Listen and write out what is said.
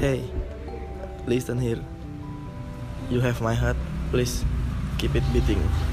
Hey, listen here. You have my heart. Please keep it beating.